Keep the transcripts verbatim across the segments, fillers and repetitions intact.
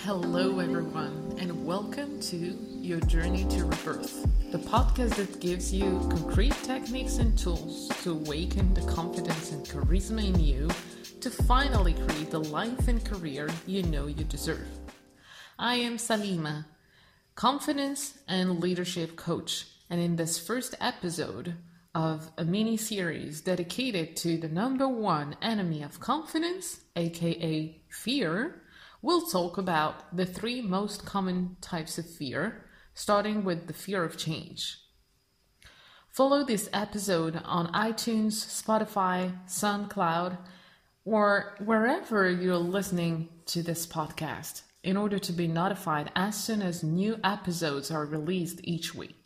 Hello, everyone, and welcome to Your Journey to Rebirth, the podcast that gives you concrete techniques and tools to awaken the confidence and charisma in you to finally create the life and career you know you deserve. I am Salima, confidence and leadership coach, and in this first episode of a mini-series dedicated to the number one enemy of confidence, aka fear, we'll talk about the three most common types of fear, starting with the fear of change. Follow this episode on iTunes, Spotify, SoundCloud, or wherever you're listening to this podcast in order to be notified as soon as new episodes are released each week.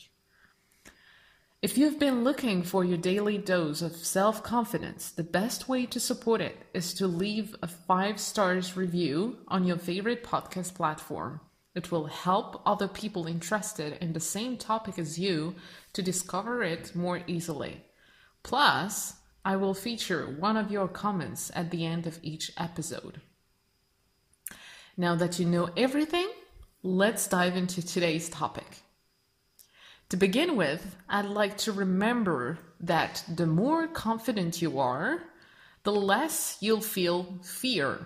If you've been looking for your daily dose of self-confidence, the best way to support it is to leave a five stars review on your favorite podcast platform. It will help other people interested in the same topic as you to discover it more easily. Plus, I will feature one of your comments at the end of each episode. Now that you know everything, let's dive into today's topic. To begin with, I'd like to remember that the more confident you are, the less you'll feel fear.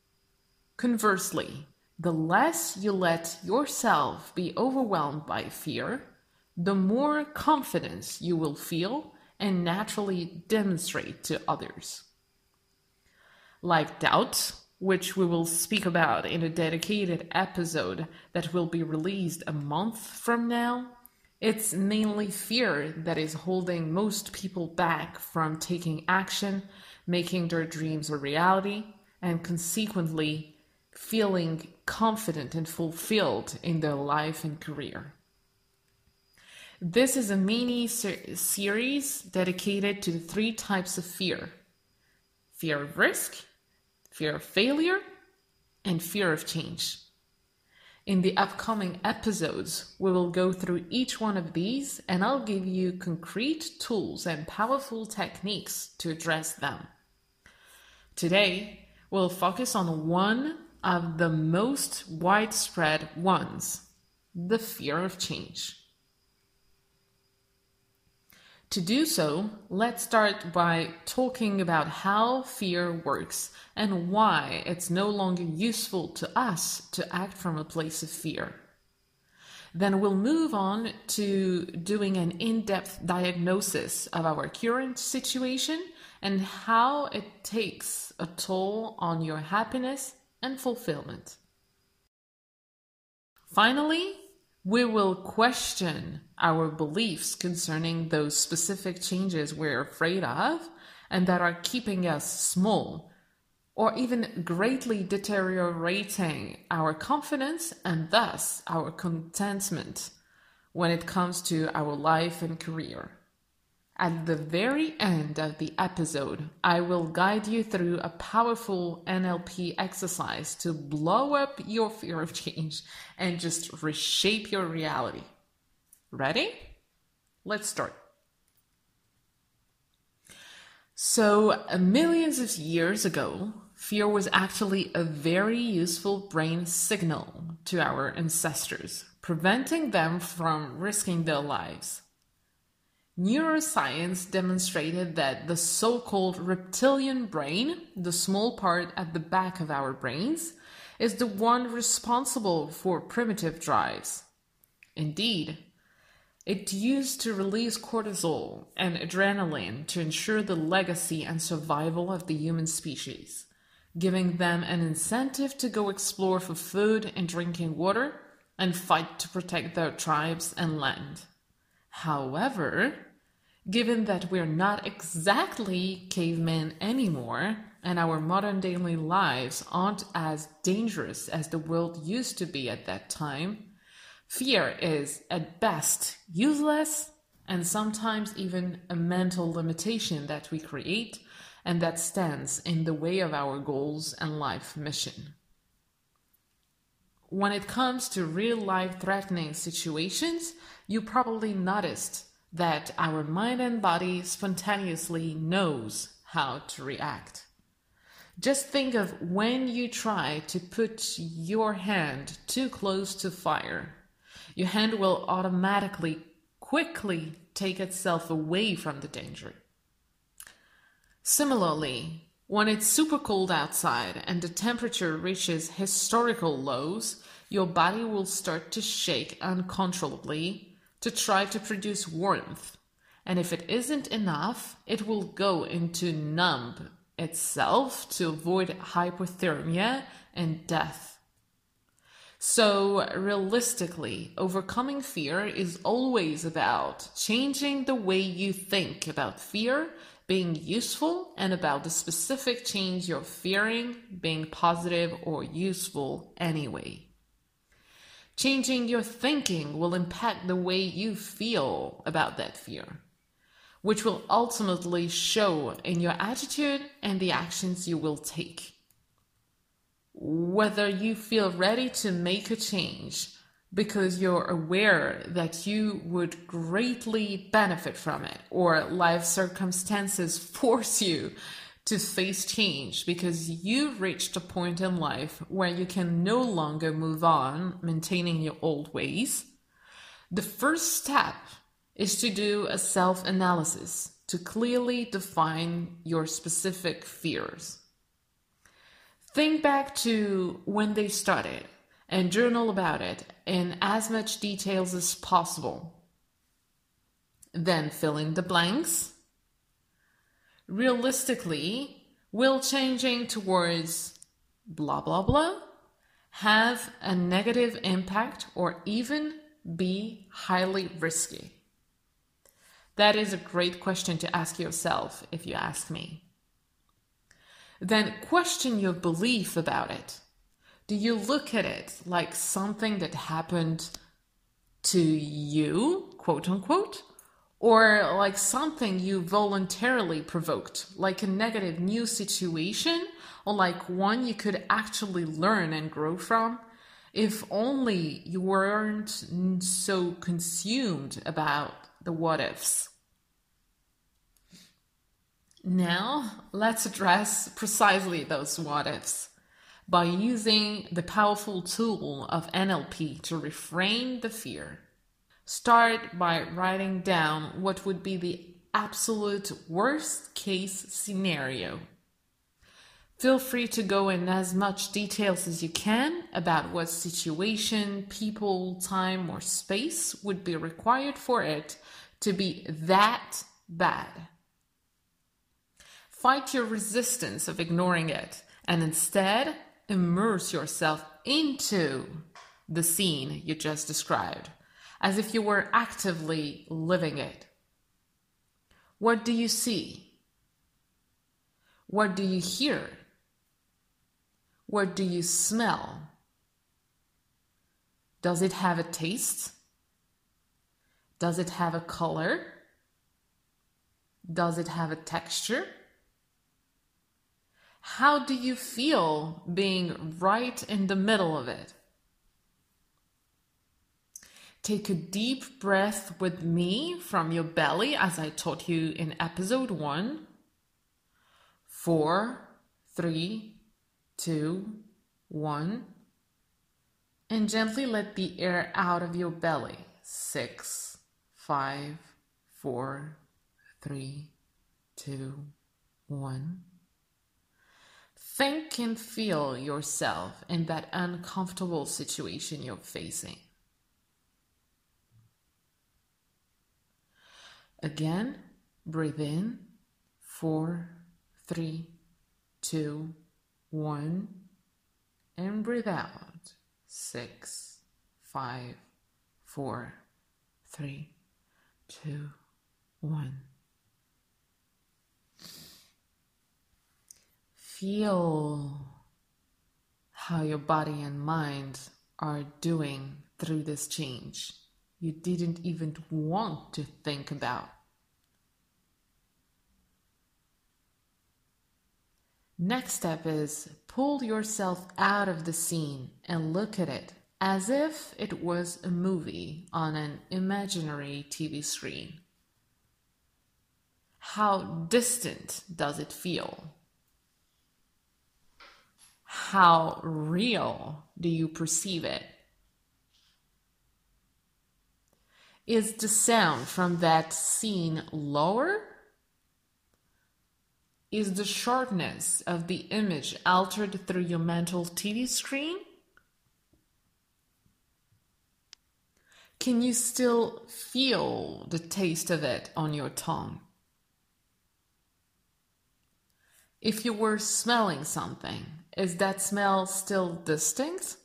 Conversely, the less you let yourself be overwhelmed by fear, the more confidence you will feel and naturally demonstrate to others. Like doubt, which we will speak about in a dedicated episode that will be released a month from now, it's mainly fear that is holding most people back from taking action, making their dreams a reality, and consequently feeling confident and fulfilled in their life and career. This is a mini ser- series dedicated to the three types of fear: fear of risk, fear of failure, and fear of change. In the upcoming episodes, we will go through each one of these and I'll give you concrete tools and powerful techniques to address them. Today, we'll focus on one of the most widespread ones, the fear of change. To do so, let's start by talking about how fear works and why it's no longer useful to us to act from a place of fear. Then we'll move on to doing an in-depth diagnosis of our current situation and how it takes a toll on your happiness and fulfillment. Finally, we will question our beliefs concerning those specific changes we're afraid of and that are keeping us small or even greatly deteriorating our confidence and thus our contentment when it comes to our life and career. At the very end of the episode, I will guide you through a powerful N L P exercise to blow up your fear of change and just reshape your reality. Ready? Let's start. So, uh, millions of years ago, fear was actually a very useful brain signal to our ancestors, preventing them from risking their lives. Neuroscience demonstrated that the so-called reptilian brain, the small part at the back of our brains, is the one responsible for primitive drives. Indeed, it's used to release cortisol and adrenaline to ensure the legacy and survival of the human species, giving them an incentive to go explore for food and drinking water and fight to protect their tribes and land. However, given that we're not exactly cavemen anymore and our modern daily lives aren't as dangerous as the world used to be at that time, fear is at best useless and sometimes even a mental limitation that we create and that stands in the way of our goals and life mission. When it comes to real-life threatening situations, you probably noticed that our mind and body spontaneously knows how to react. Just think of when you try to put your hand too close to fire. Your hand will automatically, quickly take itself away from the danger. Similarly, when it's super cold outside and the temperature reaches historical lows, your body will start to shake uncontrollably to try to produce warmth. And if it isn't enough, it will go into numb itself to avoid hypothermia and death. So realistically, overcoming fear is always about changing the way you think about fear being useful and about the specific change you're fearing being positive or useful anyway. Changing your thinking will impact the way you feel about that fear, which will ultimately show in your attitude and the actions you will take. Whether you feel ready to make a change because you're aware that you would greatly benefit from it, or life circumstances force you to face change because you've reached a point in life where you can no longer move on maintaining your old ways, the first step is to do a self-analysis to clearly define your specific fears. Think back to when they started and journal about it in as much details as possible. Then fill in the blanks. Realistically, will changing towards blah blah blah have a negative impact or even be highly risky? That is a great question to ask yourself if you ask me. Then question your belief about it. Do you look at it like something that happened to you, quote unquote, or like something you voluntarily provoked, like a negative new situation, or like one you could actually learn and grow from? If only you weren't so consumed about the what ifs. Now, let's address precisely those what ifs by using the powerful tool of N L P to reframe the fear. Start by writing down what would be the absolute worst case scenario. Feel free to go in as much details as you can about what situation, people, time, or space would be required for it to be that bad. Fight your resistance of ignoring it and instead immerse yourself into the scene you just described, as if you were actively living it. What do you see? What do you hear? What do you smell? Does it have a taste? Does it have a color? Does it have a texture? How do you feel being right in the middle of it? Take a deep breath with me from your belly as I taught you in episode one. Four, three, two, one. And gently let the air out of your belly. Six, five, four, three, two, one. Think and feel yourself in that uncomfortable situation you're facing. Again, breathe in, four, three, two, one, and breathe out, six, five, four, three, two, one. Feel how your body and mind are doing through this change you didn't even want to think about. Next step is pull yourself out of the scene and look at it as if it was a movie on an imaginary T V screen. How distant does it feel? How real do you perceive it? Is the sound from that scene lower? Is the sharpness of the image altered through your mental T V screen? Can you still feel the taste of it on your tongue? If you were smelling something, is that smell still distinct?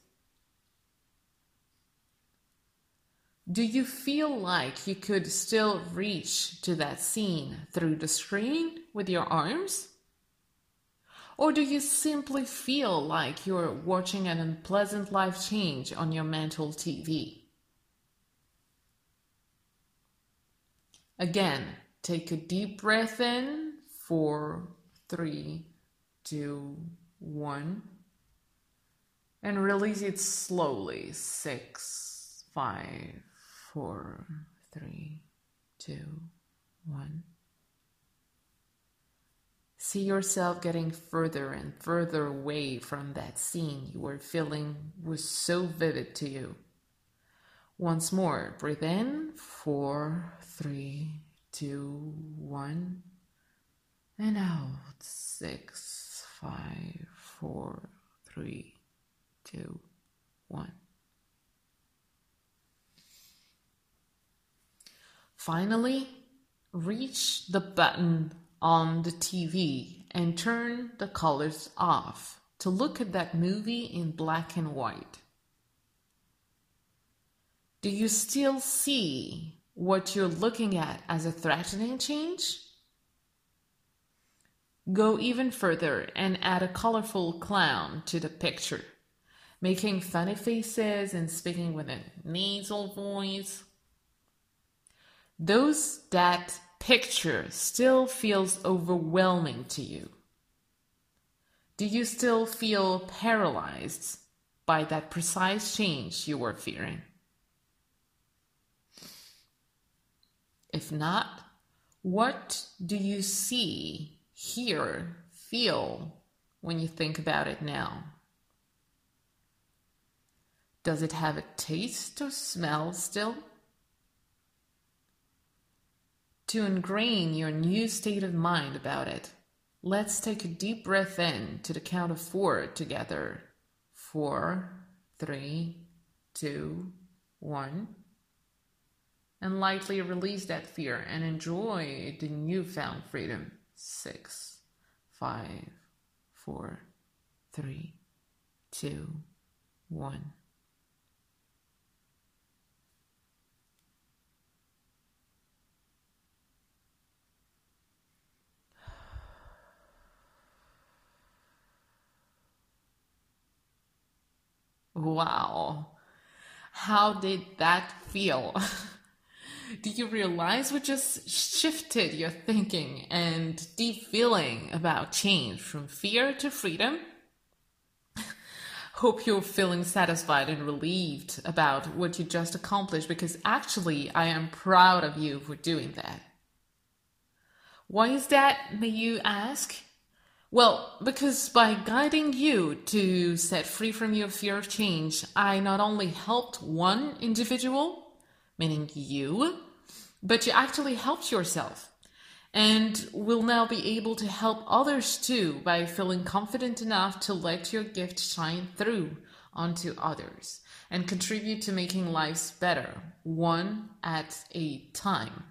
Do you feel like you could still reach to that scene through the screen with your arms? Or do you simply feel like you're watching an unpleasant life change on your mental T V? Again, take a deep breath in. Four, three, two, one. And release it slowly. Six, five, four, three, two, one. See yourself getting further and further away from that scene you were feeling was so vivid to you. Once more, breathe in. Four, three, two, one. And out. Six, five, four, three, two, one. Finally, reach the button on the T V and turn the colors off to look at that movie in black and white. Do you still see what you're looking at as a threatening change? Go even further and add a colorful clown to the picture, making funny faces and speaking with a nasal voice. Those that picture still feels overwhelming to you. Do you still feel paralyzed by that precise change you were fearing? If not, what do you see, hear, feel when you think about it now? Does it have a taste or smell still? To ingrain your new state of mind about it, let's take a deep breath in to the count of four together. Four, three, two, one. And lightly release that fear and enjoy the newfound freedom. Six, five, four, three, two, one. Wow, how did that feel? Do you realize we just shifted your thinking and deep feeling about change from fear to freedom? Hope you're feeling satisfied and relieved about what you just accomplished, because actually I am proud of you for doing that. Why is that, may you ask? Well, because by guiding you to set free from your fear of change, I not only helped one individual, meaning you, but you actually helped yourself, and will now be able to help others too by feeling confident enough to let your gift shine through onto others and contribute to making lives better, one at a time.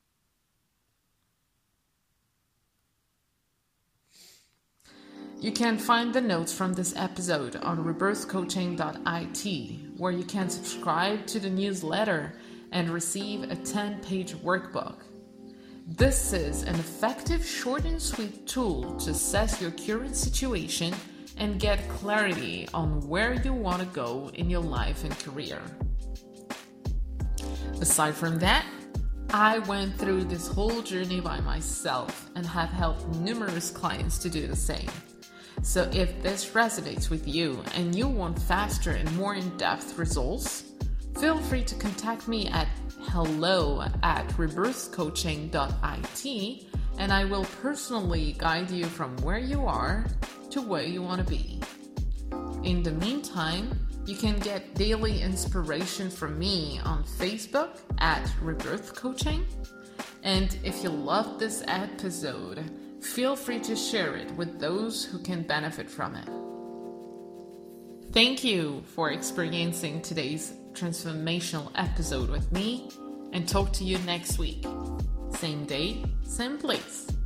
You can find the notes from this episode on rebirth coaching dot I T, where you can subscribe to the newsletter and receive a ten-page workbook. This is an effective, short and sweet tool to assess your current situation and get clarity on where you want to go in your life and career. Aside from that, I went through this whole journey by myself and have helped numerous clients to do the same. So if this resonates with you and you want faster and more in-depth results, feel free to contact me at hello at rebirth coaching dot I T, and I will personally guide you from where you are to where you want to be. In the meantime, you can get daily inspiration from me on Facebook at Rebirth Coaching. And if you loved this episode, feel free to share it with those who can benefit from it. Thank you for experiencing today's transformational episode with me, and talk to you next week. Same day, same place.